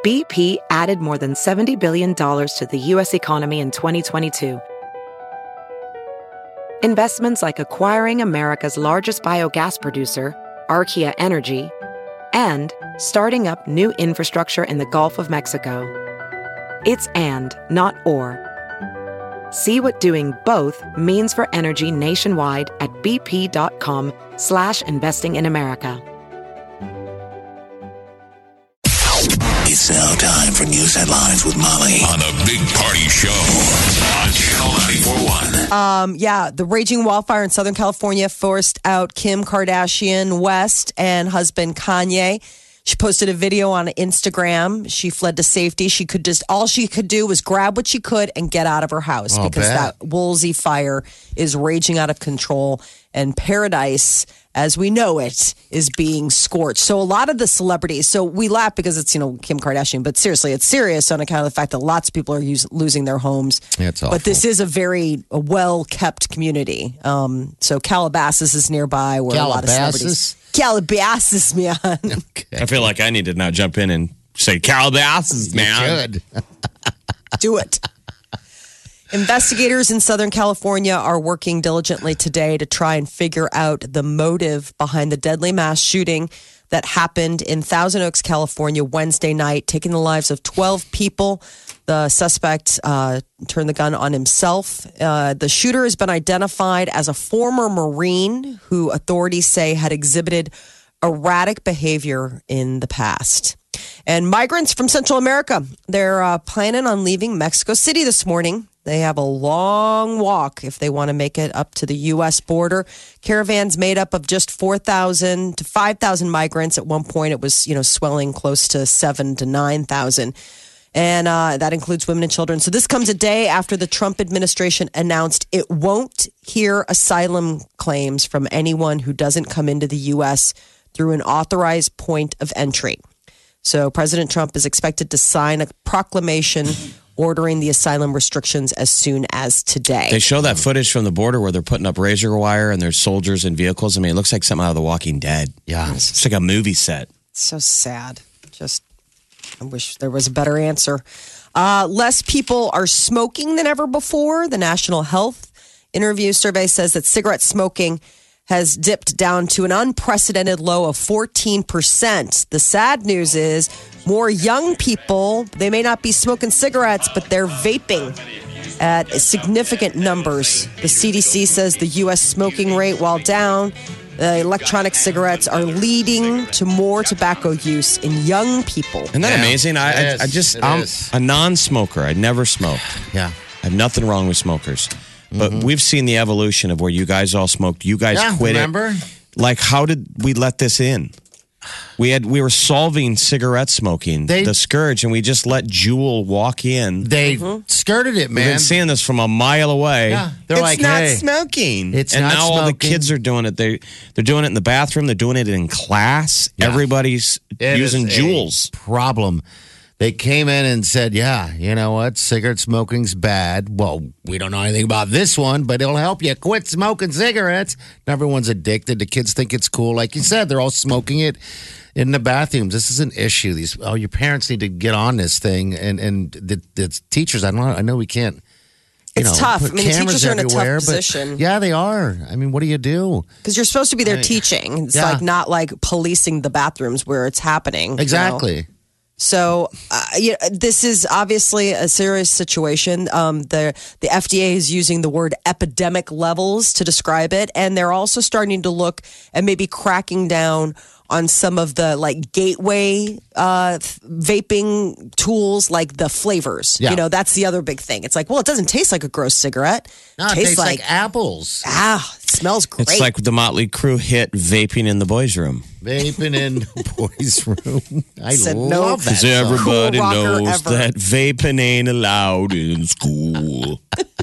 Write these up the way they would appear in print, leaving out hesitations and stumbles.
BP added more than $70 billion to the U.S. economy in 2022. Investments like acquiring America's largest biogas producer, Archaea Energy, and starting up new infrastructure in the Gulf of Mexico. It's and, not or. See what doing both means for energy nationwide at bp.com/investing in America. It's now time for news headlines with Molly on a big party show on Channel 94.1. The raging wildfire in Southern California forced out Kim Kardashian West and husband Kanye. She posted a video on Instagram. She fled to safety. All she could do was grab what she could and get out of her house because that Woolsey fire is raging out of control, and paradise, as we know it, is being scorched. So a lot of the celebrities, so we laugh because it's, Kim Kardashian, but seriously, it's serious on account of the fact that lots of people are losing their homes. Yeah, it's awful. But this is a very well-kept community. So Calabasas is nearby where a lot of celebrities... Calabasas, man. Okay. I feel like I need to now jump in and say Calabasas, man. You should. Do it. Investigators in Southern California are working diligently today to try and figure out the motive behind the deadly mass shooting that happened in Thousand Oaks, California, Wednesday night, taking the lives of 12 people. The suspect turned the gun on himself. The shooter has been identified as a former Marine who authorities say had exhibited erratic behavior in the past. And migrants from Central America, they're planning on leaving Mexico City this morning. They have a long walk if they want to make it up to the U.S. border. Caravans made up of just 4,000 to 5,000 migrants. At one point, it was, swelling close to 7,000 to 9,000. And that includes women and children. So this comes a day after the Trump administration announced it won't hear asylum claims from anyone who doesn't come into the U.S. through an authorized point of entry. So President Trump is expected to sign a proclamation ordering the asylum restrictions as soon as today. They show that footage from the border where they're putting up razor wire and there's soldiers in vehicles. I mean, it looks like something out of The Walking Dead. Yeah. It's like a movie set. So sad. I wish there was a better answer. Less people are smoking than ever before. The National Health Interview Survey says that cigarette smoking has dipped down to an unprecedented low of 14%. The sad news is more young people, they may not be smoking cigarettes, but they're vaping at significant numbers. The CDC says the U.S. smoking rate, while down, electronic cigarettes are leading to more tobacco use in young people. Isn't that amazing? I'm a non-smoker. I never smoked. Yeah. I have nothing wrong with smokers. But we've seen the evolution of where you guys all smoked. You guys quit remember? it. Like, how did we let this in? We were solving cigarette smoking, the scourge, and we just let Juul walk in. They skirted it, man. We've been seeing this from a mile away. Yeah, they're it's not smoking. It's and not now smoking. all the kids are doing it. They're doing it in the bathroom. They're doing it in class. Yeah. Everybody's using Juuls. Problem. They came in and said, yeah, you know what? Cigarette smoking's bad. Well, we don't know anything about this one, but it'll help you quit smoking cigarettes. Everyone's addicted. The kids think it's cool. Like you said, they're all smoking it in the bathrooms. This is an issue. Your parents need to get on this thing. And the teachers, I know we can't. It's tough. I mean, the teachers are in a tough everywhere, position. Yeah, they are. I mean, what do you do? Because you're supposed to be there teaching. It's like not like policing the bathrooms where it's happening. Exactly. So, this is obviously a serious situation. The FDA is using the word epidemic levels to describe it, and they're also starting to look at maybe cracking down on some of the gateway vaping tools, like the flavors. Yeah. That's the other big thing. It's like, well, it doesn't taste like a gross cigarette. No, it tastes like apples. It smells great. It's like the Motley Crue hit "Vaping in the Boys' Room." Vaping in the boys' room. I Said love no. that. Because song. everybody Cool rocker knows ever. that vaping ain't allowed in school.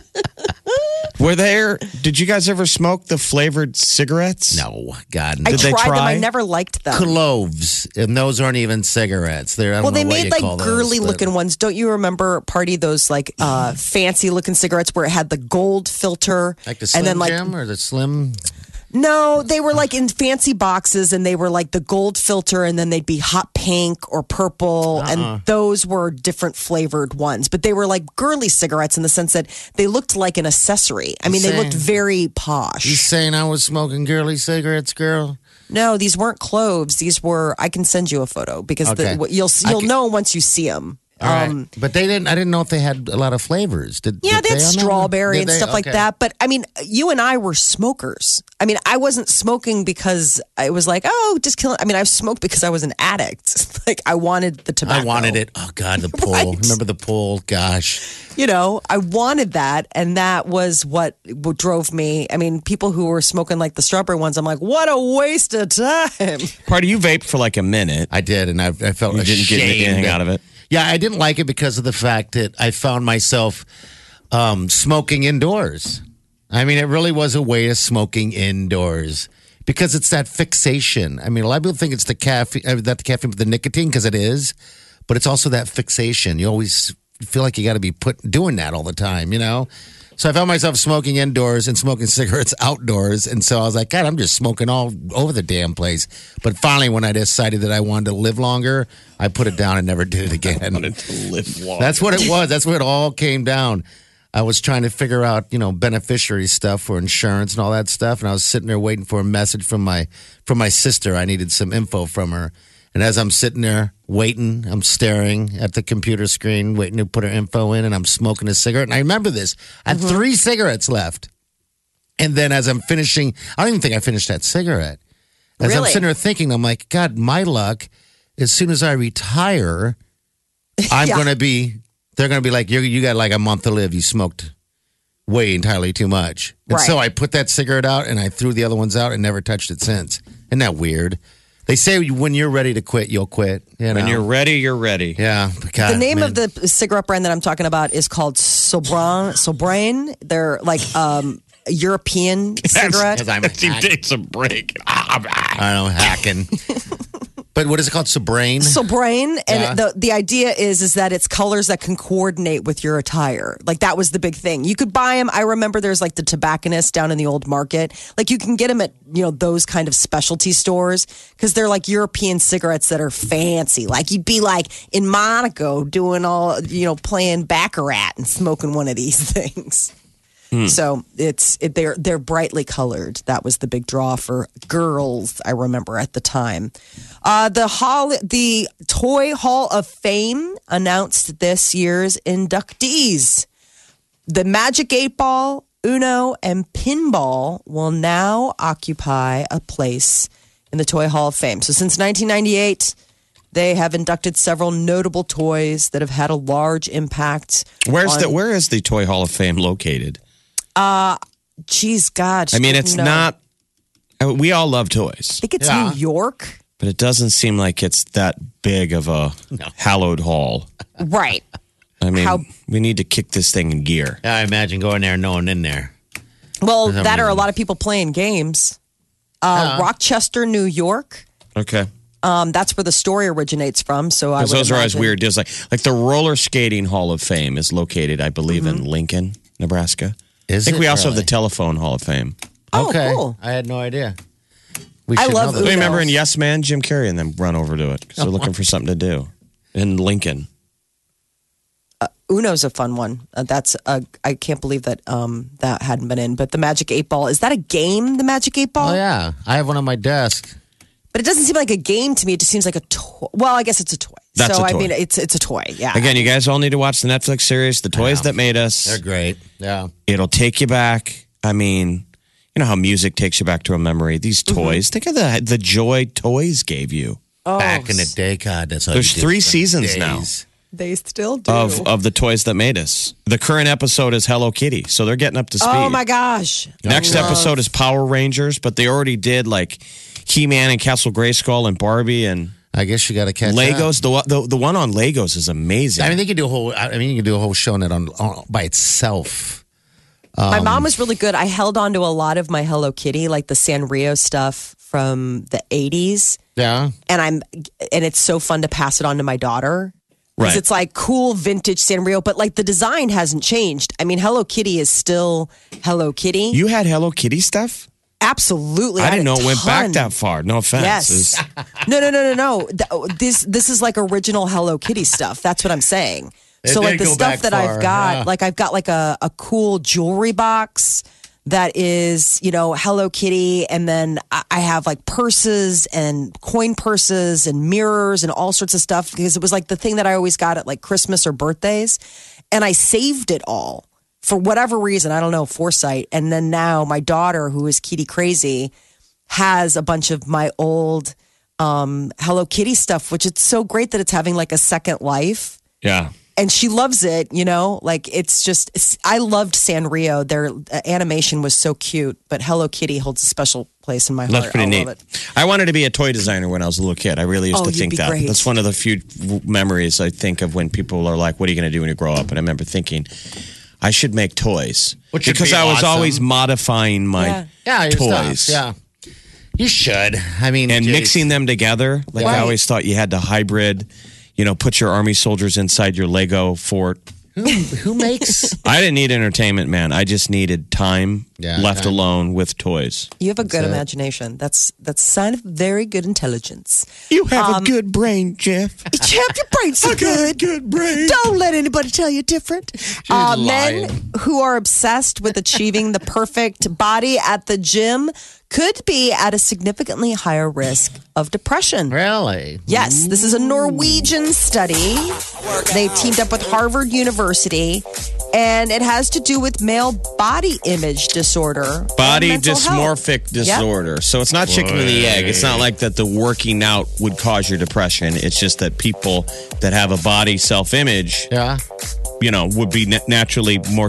Did you guys ever smoke the flavored cigarettes? No, God, I no. they tried them. try? I never liked them. Cloves, and those aren't even cigarettes. I don't know They what made you like call those, girly but- looking ones. Don't you remember, Party, those fancy looking cigarettes where it had the gold filter? like the Slim Jim or the Slim. No, they were like in fancy boxes and they were like the gold filter and then they'd be hot pink or purple. And those were different flavored ones. But they were like girly cigarettes in the sense that they looked like an accessory. I mean, they looked very posh. You saying I was smoking girly cigarettes, girl? No, these weren't cloves. These were, I can send you a photo because you'll know once you see them. All right. But they didn't. I didn't know if they had a lot of flavors. Did they had strawberry and stuff like Okay. that. But I mean, you and I were smokers. I mean, I wasn't smoking because I was like, oh, just kill it. I mean, I smoked because I was an addict. Like I wanted the tobacco. I wanted it. Oh God, the pull. Right. Remember the pull? Gosh. You know, I wanted that, and that was what drove me. I mean, people who were smoking like the strawberry ones, I'm like, what a waste of time. Party, you vaped for like a minute. I did, and I felt You ashamed. didn't get anything out of it. Yeah, I didn't like it because of the fact that I found myself smoking indoors. I mean, it really was a way of smoking indoors because it's that fixation. I mean, a lot of people think it's the caffeine, not the caffeine, but the nicotine because it is, but it's also that fixation. You always feel like you got to be doing that all the time, you know? So I found myself smoking indoors and smoking cigarettes outdoors. And so I was like, God, I'm just smoking all over the damn place. But finally, when I decided that I wanted to live longer, I put it down and never did it again. I wanted to live longer. That's what it was. That's what it all came down. I was trying to figure out, beneficiary stuff for insurance and all that stuff. And I was sitting there waiting for a message from my sister. I needed some info from her. And as I'm sitting there waiting, I'm staring at the computer screen, waiting to put her info in, and I'm smoking a cigarette. And I remember this. I had 3 cigarettes left. And then as I'm finishing, I don't even think I finished that cigarette. As I'm sitting there thinking, I'm like, God, my luck, as soon as I retire, they're going to be like, you got like a month to live. You smoked way entirely too much. And so I put that cigarette out and I threw the other ones out and never touched it since. Isn't that weird? They say when you're ready to quit, you'll quit. When you're ready, you're ready. Yeah. God, the name of the cigarette brand that I'm talking about is called Sobrain. They're like European cigarette. Because I'm a He takes a break. I don't know, hacking. But what is it called? Sobrain? Sobrain. And the idea is that it's colors that can coordinate with your attire. Like that was the big thing. You could buy them. I remember there's like the tobacconist down in the old market. Like you can get them at, those kind of specialty stores because they're like European cigarettes that are fancy. Like you'd be like in Monaco doing all, playing Baccarat and smoking one of these things. So they're brightly colored. That was the big draw for girls, I remember at the time. The Toy Hall of Fame announced this year's inductees. The Magic 8 Ball, Uno, and Pinball will now occupy a place in the Toy Hall of Fame. So since 1998, they have inducted several notable toys that have had a large impact. Where is the Toy Hall of Fame located? Geez, God. I mean, it's not. We all love toys. I think it's New York. But it doesn't seem like it's that big of a hallowed hall. Right. I mean, we need to kick this thing in gear. I imagine going there and no one in there. Well, that are a lot of people playing games. Rochester, New York. Okay. That's where the story originates from. So I those are always weird deals. Like the Roller Skating Hall of Fame is located, I believe, in Lincoln, Nebraska. I think we also have the Telephone Hall of Fame. Oh, okay. Cool. I had no idea. I love Do you remember in Yes Man, Jim Carrey and them run over to it because they're looking for something to do in Lincoln. Uno's a fun one. I can't believe that that hadn't been in. But the Magic 8 Ball, is that a game, the Magic 8 Ball? Oh, yeah. I have one on my desk. But it doesn't seem like a game to me. It just seems like a toy. Well, I guess it's a toy. That's a toy. I mean, it's a toy, yeah. Again, you guys all need to watch the Netflix series, The Toys That Made Us. They're great. Yeah. It'll take you back. I mean, you know how music takes you back to a memory. These toys, think of the joy toys gave you. Oh, Back in the day, God, that's how There's you did 3 some seasons days. now. They still do. Of the Toys That Made Us. The current episode is Hello Kitty, so they're getting up to speed. Oh, my gosh. Next episode is Power Rangers, but they already did like He-Man and Castle Grayskull and Barbie and I guess you got to catch Legos. The one on Legos is amazing. I mean, they could do a whole. I mean, you could do a whole show on it on by itself. My mom was really good. I held on to a lot of my Hello Kitty, like the Sanrio stuff from the 80s. Yeah. And it's so fun to pass it on to my daughter. Because it's like cool vintage Sanrio, but like the design hasn't changed. I mean, Hello Kitty is still Hello Kitty. You had Hello Kitty stuff? Absolutely. I didn't know it went back ton. that far. No offense. Yes. No. This is like original Hello Kitty stuff. That's what I'm saying. It So did like the go stuff back that far, I've got, yeah. like I've got like a cool jewelry box that is, Hello Kitty. And then I have like purses and coin purses and mirrors and all sorts of stuff because it was like the thing that I always got at like Christmas or birthdays. And I saved it all for whatever reason. I don't know, foresight. And then now my daughter, who is Kitty crazy, has a bunch of my old Hello Kitty stuff, which it's so great that it's having like a second life. Yeah. And she loves it, like I loved Sanrio. Their animation was so cute, but Hello Kitty holds a special place in my heart. That's pretty neat. Love it. I wanted to be a toy designer when I was a little kid. I really used to you'd think be that. great. That's one of the few memories I think of when people are like, what are you going to do when you grow up? And I remember thinking, I should make toys. Which would because be I was awesome. always modifying my Yeah, your toys. stuff. Yeah. You should. I mean, And geez. mixing them together. Like I Right. always thought you had to hybrid, put your army soldiers inside your Lego fort. Who makes? I didn't need entertainment, man. I just needed time left time. alone with toys. You have a good it. imagination. That's a sign of very good intelligence. You have a good brain, Jeff. Jeff, your brain's so good. Good brain. Don't let anybody tell you different. Men lying. who are obsessed with achieving the perfect body at the gym could be at a significantly higher risk of depression. Really? Yes, this is a Norwegian study. They teamed up with Harvard University, and it has to do with male body image disorder. Body and mental health. dysmorphic disorder. So it's not chicken and the egg. It's not like that the working out would cause your depression. It's just that people that have a body self-image, Yeah. would be naturally more,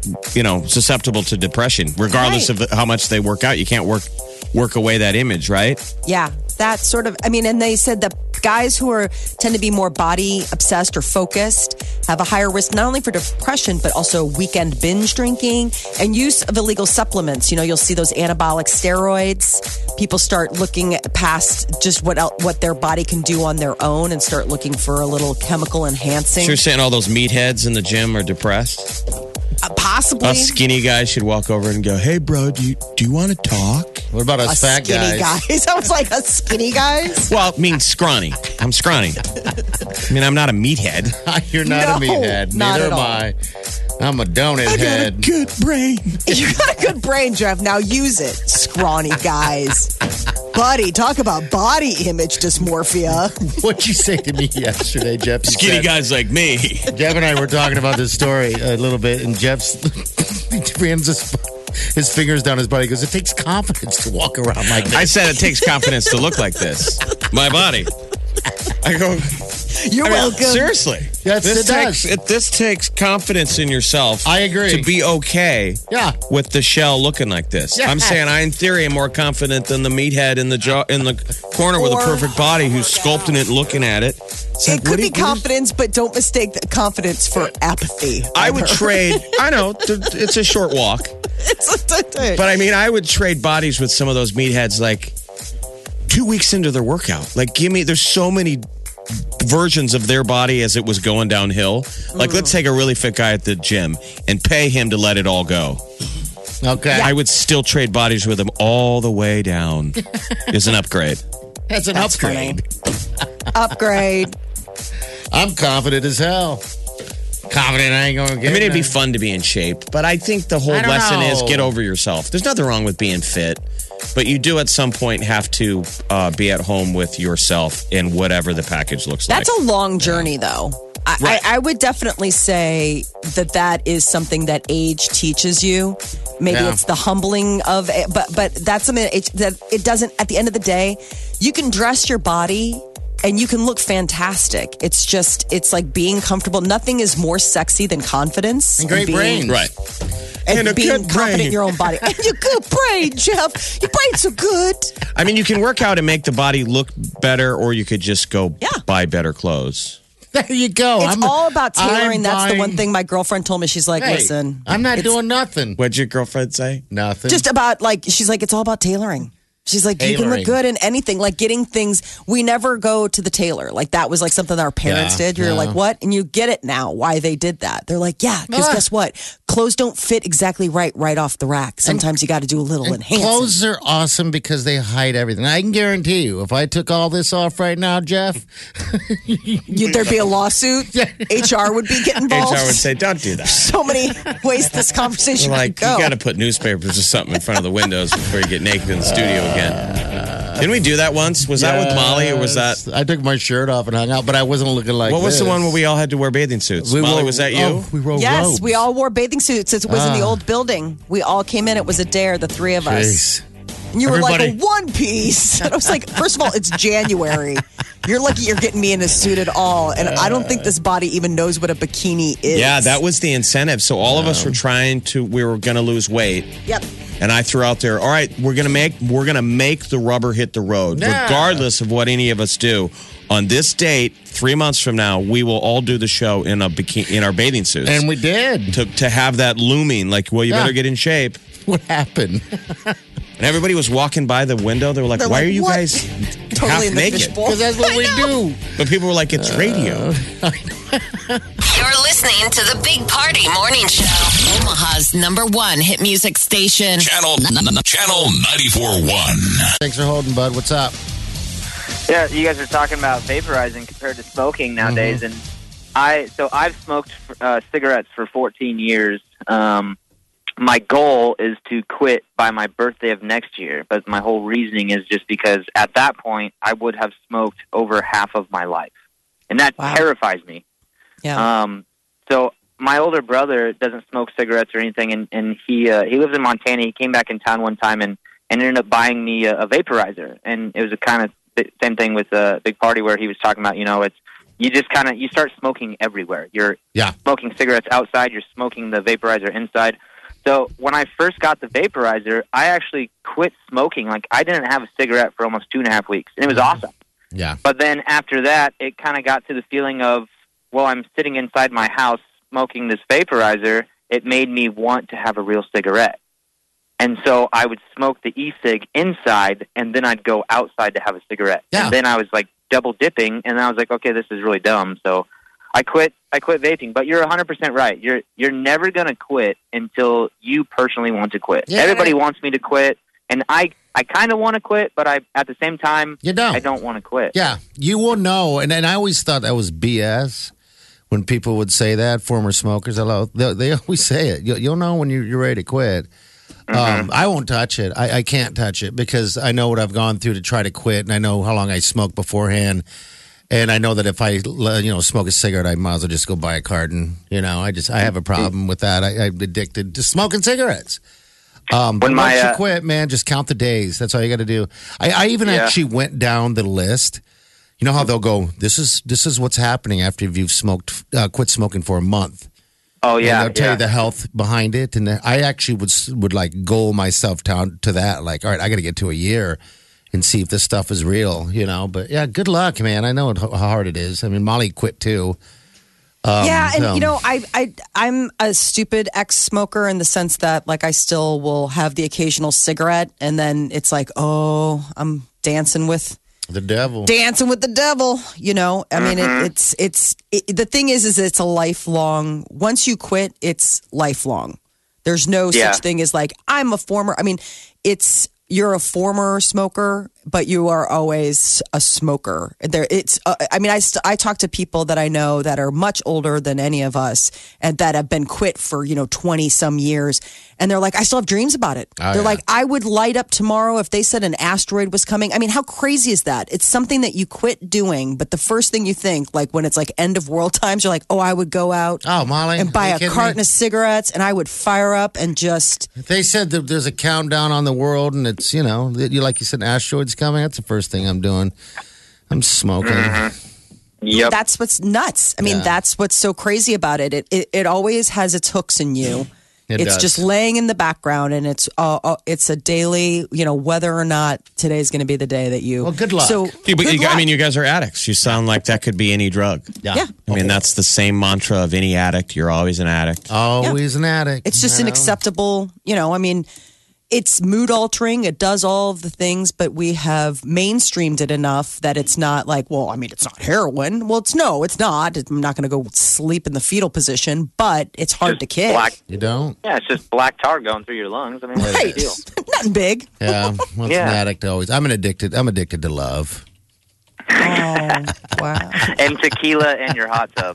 susceptible to depression, regardless Right. of how much they work out. You can't work away that image, right? Yeah, that sort of. And they said that guys who tend to be more body obsessed or focused have a higher risk not only for depression but also weekend binge drinking and use of illegal supplements. You'll see those anabolic steroids. People start looking past just what their body can do on their own and start looking for a little chemical enhancing. So you're saying all those meatheads in the gym are depressed? Possibly. Us skinny guys should walk over and go, "Hey, bro, do you want to talk?" What about us fat skinny guys. I was like, a skinny guys? Well, I mean, scrawny. I'm scrawny. I mean, I'm not a meathead. You're not a No, meathead. not Neither at am all. I. I'm a donut head. good brain. You got a good brain, Jeff. Now use it, scrawny guys. Buddy, talk about body image dysmorphia. What'd you say to me yesterday, Jeff? You Skinny said- guys like me. Jeff and I were talking about this story a little bit, and Jeff's runs his fingers down his body. He goes, "It takes confidence to walk around like this." I said it takes confidence to look like this. My body. I go, You're welcome. seriously. Yes, it does. This takes confidence in yourself. I agree. To be okay Yeah. with the shell looking like this. Yes. I'm saying I, in theory, am more confident than the meathead in the corner with a Or- perfect body who's sculpting it, looking at it. It's like, It could be confidence, but don't mistake that confidence for apathy. I would trade. I know it's a short walk, but I mean, I would trade bodies with some of those meatheads like 2 weeks into their workout. Like, there's so many versions of their body as it was going downhill. Like, let's take a really fit guy at the gym and pay him to let it all go. Okay. I would still trade bodies with him all the way down. Is an upgrade. That's an That's upgrade. Upgrade. I'm confident as hell. Confident I ain't going to get I mean, it'd be none. fun to be in shape, but I think the whole I don't lesson is know. get over yourself. There's nothing wrong with being fit, but you do at some point have to be at home with yourself in whatever the package looks like. That's a long journey, though. Right. I would definitely say that is something that age teaches you. Maybe Yeah. it's the humbling of it, but that's something that it doesn't. At the end of the day, you can dress your body and you can look fantastic. It's like being comfortable. Nothing is more sexy than confidence And great being, brains. right. and And a being good confident brain. in your own body. And your good brain, Jeff. Your brain's so good. I mean, you can work out and make the body look better, or you could just go buy better clothes. There you go. It's all about tailoring. I'm That's the one buying- thing my girlfriend told me. She's like, Hey, listen, I'm not it's doing nothing. What'd your girlfriend say? Nothing. just about like she's like, it's all about tailoring. She's like, you can look good in anything. Like getting things, we never go to the tailor. Like that was like something that our parents did. You're like, what? And you get it now why they did that. They're like, yeah, because guess what? Clothes don't fit exactly right off the rack. Sometimes you got to do a little enhancement. Clothes are awesome because they hide everything. I can guarantee you, if I took all this off right now, Jeff, there'd be a lawsuit. HR would be getting involved. HR would say, don't do that. So many ways this conversation like, could go. You got to put newspapers or something in front of the windows before you get naked in the studio again. Didn't we do that once? Was that with Molly or was that? I took my shirt off and hung out, but I wasn't looking like What was the one where we all had to wear bathing suits? Molly, was that you? We wore Yes, robes. we all wore bathing suits. It was in the old building. We all came in. It was a dare, the three of us. And you were like a one piece. And I was like, first of all, it's January. You're lucky you're getting me in a suit at all. And I don't think this body even knows what a bikini is. Yeah, that was the incentive. So all of us were we were going to lose weight. Yep. And I threw out there, all right, we're gonna make the rubber hit the road, regardless of what any of us do. On this date, 3 months from now, we will all do the show in our bathing suits. And we did. To have that looming, like, well, you better get in shape. What happened? And everybody was walking by the window. They were like, why are you guys totally half in the naked? fishbowl? Because that's what we do. But people were like, it's radio. You're listening to the Big Party Morning Show. Omaha's #1 hit music station. Channel 94.1. Thanks for holding, bud. What's up? Yeah, you guys are talking about vaporizing compared to smoking nowadays, and I've smoked cigarettes for 14 years. My goal is to quit by my birthday of next year, but my whole reasoning is just because at that point I would have smoked over half of my life, and that terrifies me. Yeah. So my older brother doesn't smoke cigarettes or anything, and he lives in Montana. He came back in town one time and ended up buying me a vaporizer, and it was a kind of same thing with a Big Party where he was talking about, it's you just you start smoking everywhere. You're smoking cigarettes outside, you're smoking the vaporizer inside. So when I first got the vaporizer, I actually quit smoking. Like I didn't have a cigarette for almost 2.5 weeks, and it was awesome. Yeah. But then after that, it kind of got to the feeling of, well, I'm sitting inside my house smoking this vaporizer. It made me want to have a real cigarette. And so I would smoke the e-cig inside, and then I'd go outside to have a cigarette. Yeah. And then I was like double dipping, and I was like, okay, this is really dumb. So I quit vaping. But you're 100% right. You're never going to quit until you personally want to quit. Yeah. Everybody wants me to quit, and I kind of want to quit, but at the same time, I don't want to quit. Yeah, you will know. And I always thought that was BS when people would say that, former smokers. They always say it. You'll know when you're ready to quit. I won't touch it. I can't touch it because I know what I've gone through to try to quit, and I know how long I smoked beforehand. And I know that if I, smoke a cigarette, I might as well just go buy a carton. I have a problem with that. I'm addicted to smoking cigarettes. But once you quit, man, just count the days. That's all you got to do. I even actually went down the list. You know how they'll go, this is what's happening after you've quit smoking for a month. Oh, yeah. And they'll tell you the health behind it. And I actually would like goal myself down to that. Like, all right, I got to get to a year and see if this stuff is real, But yeah, good luck, man. I know how hard it is. I mean, Molly quit too. I'm a stupid ex-smoker in the sense that, like, I still will have the occasional cigarette, and then it's like, oh, I'm dancing with the devil. I mean, the thing is it's a lifelong. Once you quit, it's lifelong. There's no such thing as like I'm a former. I mean, you're a former smoker, but you are always a smoker. I talk to people that I know that are much older than any of us and that have been quit for, 20 some years. And they're like, I still have dreams about it. They're like, I would light up tomorrow if they said an asteroid was coming. I mean, how crazy is that? It's something that you quit doing, but the first thing you think, like when it's like end of world times, you're like, oh, I would go out Molly, and buy a carton of cigarettes and I would fire up and just... If they said that there's a countdown on the world and it's, like you said, asteroids coming, that's the first thing I'm doing. I'm smoking. Yep. That's what's nuts. I mean, that's what's so crazy about it. It always has its hooks in you. It's just laying in the background, and it's a daily, whether or not today's going to be the day that you. Well, good luck. So, you guys are addicts. You sound like that could be any drug. Yeah. I mean, that's the same mantra of any addict. You're always an addict. Always an addict. It's just an acceptable, I mean, It's mood altering. It does all of the things, but we have mainstreamed it enough that it's not like, well, I mean, it's not heroin. Well, it's not. I'm not going to go sleep in the fetal position, but it's hard to kick. You don't? Yeah, it's just black tar going through your lungs. I mean, what's the Right. deal? Nothing big. Yeah. Well, it's an addict always. I'm addicted to love. Oh, wow. And tequila and your hot tub.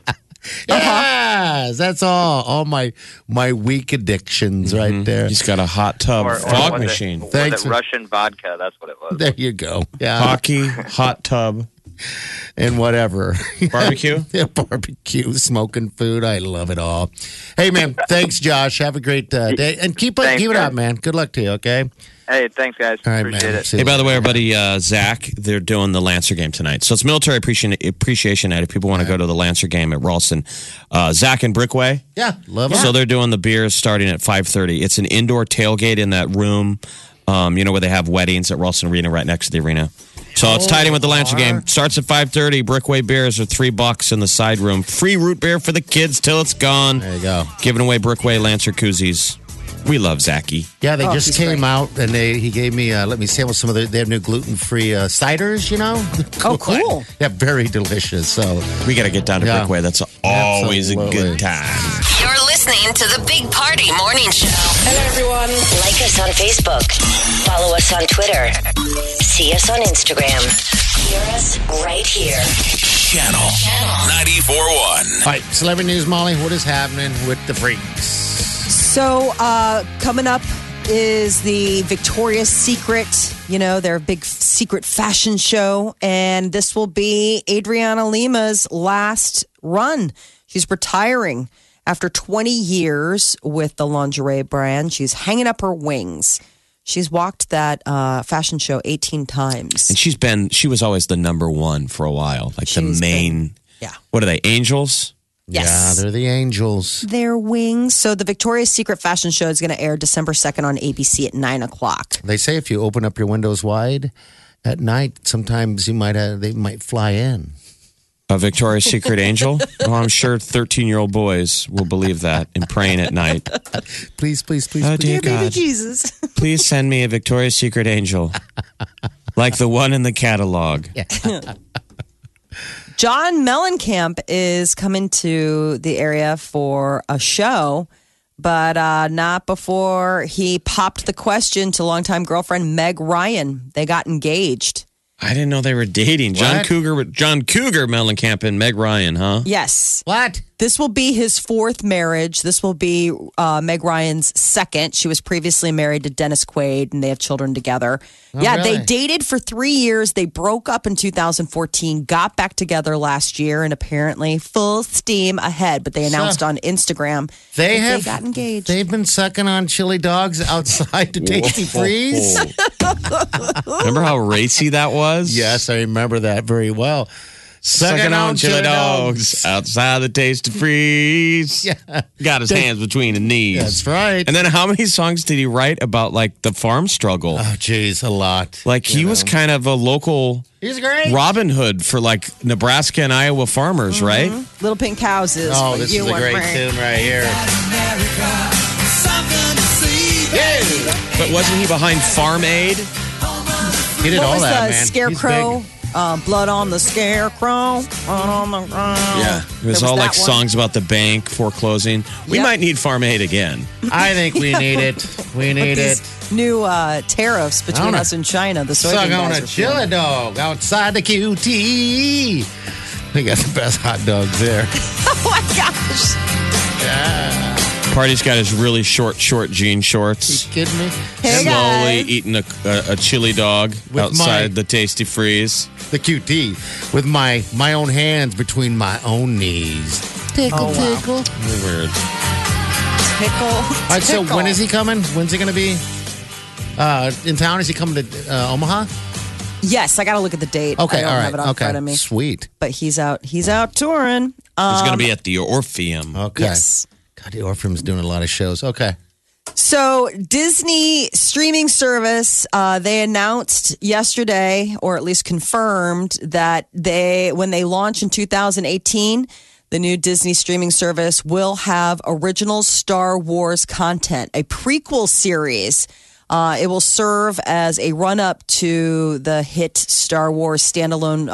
Yes, that's all my weak addictions right there. He's got a hot tub fog was machine. Was Thanks. it Russian vodka? That's what it was. There you go. Yeah. Hockey, hot tub, And whatever. barbecue. Yeah, barbecue, smoking food. I love it all. Hey, man, thanks, Josh. Have a great day. And keep Thanks, it guys. up, man. Good luck to you, okay? Hey, thanks, guys. All right, Appreciate man. it. See Hey, you by the way, later. our buddy Zach, they're doing the Lancer game tonight. So it's Military Appreciation Night. If people want to go to the Lancer game at Ralston, Zach and Brickway. Yeah, love it. So they're doing the beers starting at 5:30. It's an indoor tailgate in that room, where they have weddings at Ralston Arena right next to the arena. So it's tied in with the Lancer game. Starts at 5:30. Brickway beers are $3 in the side room. Free root beer for the kids till it's gone. There you go. Giving away Brickway Lancer koozies. We love Zachy. Yeah, they just he's came great. out and he gave me let me sample some of they have new gluten-free ciders, you know? Oh, cool. Yeah, very delicious. So We got to get down to Yeah. Brickway. That's always a Absolutely. good time. You're listening to the Big Party Morning Show. Hello, everyone. Like us on Facebook. Follow us on Twitter. See us on Instagram. Hear us right here. Channel 94.1. all right, celebrity news, Molly. What is happening with the freaks? So, coming up is the Victoria's Secret, their big secret fashion show. And this will be Adriana Lima's last run. She's retiring after 20 years with the lingerie brand. She's hanging up her wings. She's walked that fashion show 18 times. And she was always the number one for a while. Like the She's main. yeah. What are they? Angels? Yes. Yeah, they're the angels. Their wings. So the Victoria's Secret fashion show is going to air December 2nd on ABC at 9 o'clock. They say if you open up your windows wide at night, sometimes they might fly in. A Victoria's Secret angel? Well, I'm sure 13-year-old boys will believe that and praying at night. Please, please, please, Oh, please. dear Baby God. Jesus. Please send me a Victoria's Secret angel. Like the one in the catalog. John Mellencamp is coming to the area for a show, but not before he popped the question to longtime girlfriend Meg Ryan. They got engaged. I didn't know they were dating. John What? Cougar Mellencamp and Meg Ryan, huh? Yes. What? This will be his fourth marriage. This will be Meg Ryan's second. She was previously married to Dennis Quaid, and they have children together. really? They dated for 3 years. They broke up in 2014, got back together last year, and apparently full steam ahead. But they announced on Instagram They that have they got engaged. They've been sucking on chili dogs outside the Tasty Freeze. Remember how racy that was? Yes, I remember that very well. Sucking on chili dogs outside the Taste of Freeze. Yeah. Got his hands between the knees. That's right. And then how many songs did he write about like the farm struggle? Oh, geez, a lot. Like he was kind of a local He's great. Robin Hood for like Nebraska and Iowa farmers, right? Little Pink Houses. Oh, for this you is a and great me. tune right here. But wasn't he behind Farm Aid? He did What all was that, the man. Scarecrow? He's big. Blood on the Scarecrow. Blood on the ground. It was There all like that one. songs about the bank foreclosing. We Yep. might need Farm Aid again. I think we need it. We need it. These new tariffs between know. us and China. The Suck soybean on guys a are feeling. chili dog outside the QT. They got the best hot dogs there. Oh my gosh! Party's got his really short jean shorts. You kidding me? Hey Slowly guys. eating a chili dog With outside my- the Tasty Freeze. The QT with my own hands between my own knees. Tickle, tickle. Weird. Pickle. All right, so Tickle. when is he coming? When's he going to be in town? Is he coming to Omaha? Yes, I got to look at the date. Okay, I don't all right. have it on okay, front of me. sweet. But he's out touring. He's going to be at the Orpheum. Okay. Yes. God, the Orpheum's doing a lot of shows. Okay. So Disney streaming service, they announced yesterday, or at least confirmed, that when they launch in 2018, the new Disney streaming service will have original Star Wars content, a prequel series It will serve as a run-up to the hit Star Wars standalone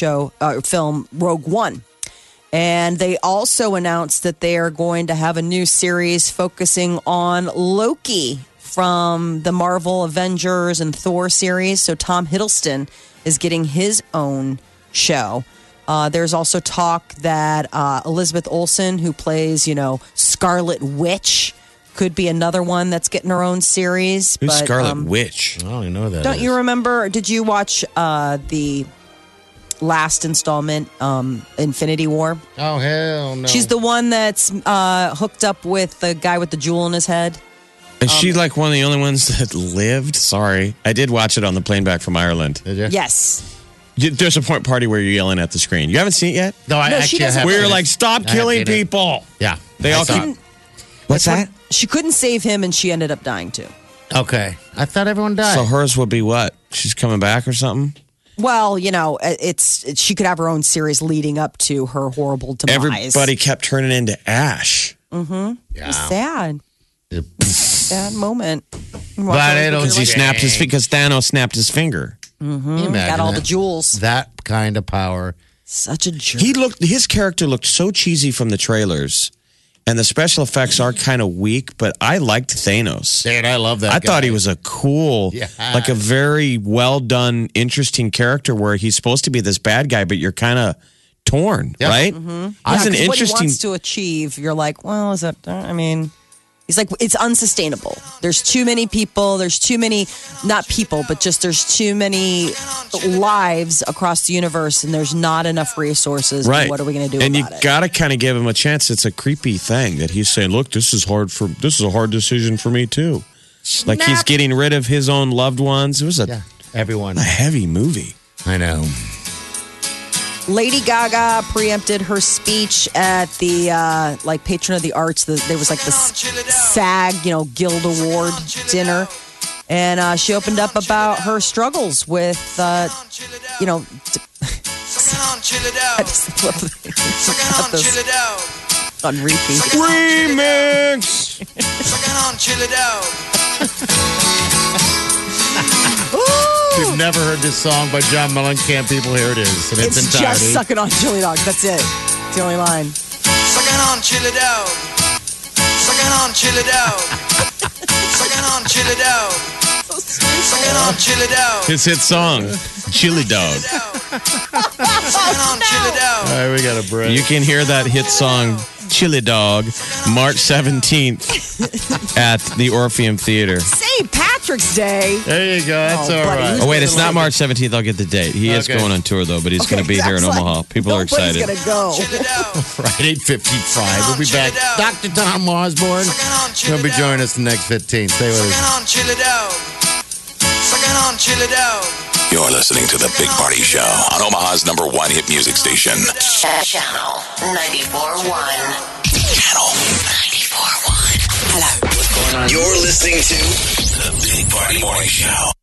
film Rogue One. And they also announced that they are going to have a new series focusing on Loki from the Marvel Avengers and Thor series. So Tom Hiddleston is getting his own show. There's also talk that Elizabeth Olsen, who plays, Scarlet Witch, could be another one that's getting her own series. Who's Scarlet Witch? I don't even know who that Don't is. you remember? Did you watch the last installment, Infinity War? Oh, hell no. She's the one that's hooked up with the guy with the jewel in his head. Is she like one of the only ones that lived? Sorry. I did watch it on the plane back from Ireland. Did you? Yes. There's a party where you're yelling at the screen. You haven't seen it yet? No, she doesn't. haven't. We were like, stop killing people. Yeah. They all keep... What's that? She couldn't save him, and she ended up dying too. Okay. I thought everyone died. So hers would be what? She's coming back or something? Well, she could have her own series leading up to her horrible demise. Everybody kept turning into ash. Mm-hmm. Yeah. It was sad. Sad moment. But Because because Thanos snapped his finger. Mm-hmm. Got all the jewels. That kind of power. Such a jerk. His character looked so cheesy from the trailers, and the special effects are kind of weak, but I liked Thanos. Dude, I love that I guy. thought he was a cool, like a very well done, interesting character where he's supposed to be this bad guy, but you're kind of torn, right? Mm-hmm. He's an what he interesting. wants to achieve, you're like, well, is that? I mean, he's like, it's unsustainable. There's too many people. There's too many, not people, but just there's too many lives across the universe, and there's not enough resources. Right. What are we going to do and about you it? got to kind of give him a chance. It's a creepy thing that he's saying, look, this is a hard decision for me too. Like he's getting rid of his own loved ones. It was everyone. a heavy movie. I know. Lady Gaga preempted her speech at the Patron of the Arts. There was the SAG, Guild Award dinner, and she opened up about her struggles with, I just love this on repeat. Remix. You've never heard this song by John Mellencamp. People, here it is in its entirety. Just sucking on chili dog. That's it. It's the only line. Sucking on chili dog. Sucking on chili dog. Sucking on chili dog. Sucking on chili dog. His hit song, Chili Dog. Sucking on chili dog. All right, we got a break. You can hear that hit song, Chili Dog, March 17th at the Orpheum Theater. St. Patrick's Day. There you go. That's all buddy, right. Oh, wait, it's not March 17th. I'll get the date. He is Okay. going on tour, though, but he's going to be here in Zach's Omaha. People are excited. Nobody's going to go. Right, 8:55. We'll be back. Dr. Tom Osborne will be joining us the next 15. Stay with us. Sucking on chili dog. Sucking on chili dog. You're listening to The Big Party Show on Omaha's #1 hit music station. Channel 94.1. Channel 94.1. Hello. You're listening to The Big Party Morning Show.